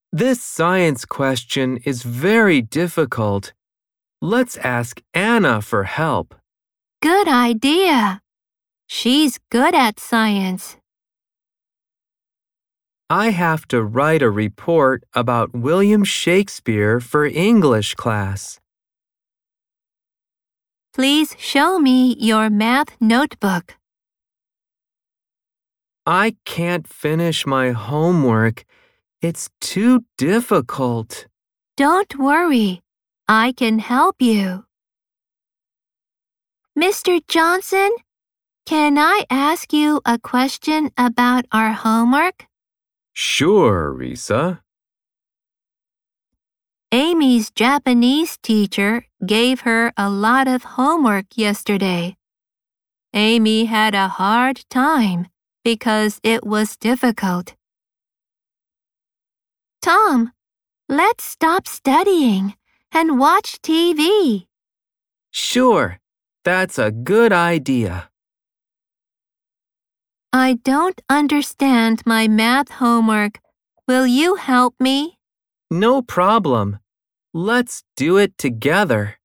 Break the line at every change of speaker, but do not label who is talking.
This science question is very difficult. Let's ask Anna for help.
Good idea. She's good at science.
I have to write a report about William Shakespeare for English class.
Please show me your math notebook.
I can't finish my homework. It's too difficult.
Don't worry. I can help you. Mr. Johnson, can I ask you a question about our homework?
Sure, Risa.
Amy's Japanese teacher gave her a lot of homework yesterday. Amy had a hard time because it was difficult. Tom, let's stop studying and watch TV.
Sure, that's a good idea.
I don't understand my math homework. Will you help me?
No problem. Let's do it together.